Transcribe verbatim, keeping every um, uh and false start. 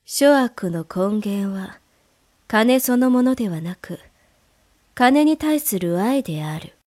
諸悪の根源は金そのものではなく、金に対する愛である。